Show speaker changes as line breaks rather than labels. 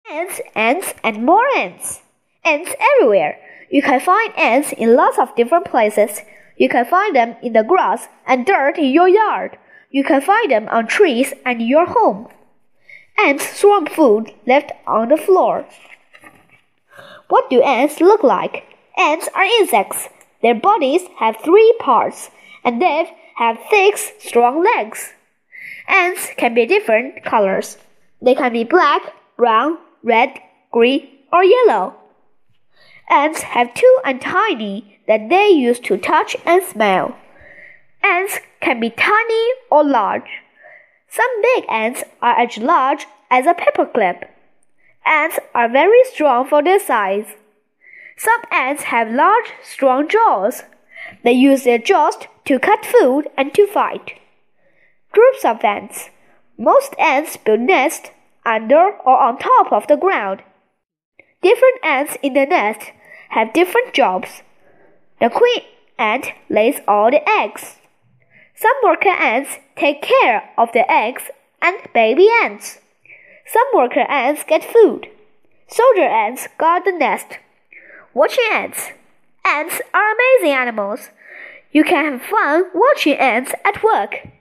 Ants, and more ants. Ants everywhere. You can find ants in lots of different places. You can find them in the grass and dirt in your yard. You can find them on trees and in your home. Ants swarm food left on the floor. What do ants look like? Ants are insects. Their bodies have 3 parts, and they have thick, strong legs. Ants can be different colors. They can be black, brown, red, green, or yellow. Ants have 2 antennae that they use to touch and smell. Ants can be tiny or large. Some big ants are as large as a paperclip. Ants are very strong for their size. Some ants have large, strong jaws. They use their jaws to cut food and to fight. Groups of ants. Most ants build nests under or on top of the ground. Different ants in the nest have different jobs. The queen ant lays all the eggs. Some worker ants take care of the eggs and baby ants. Some worker ants get food. Soldier ants guard the nest. Watching ants. Ants are amazing animals. You can have fun watching ants at work.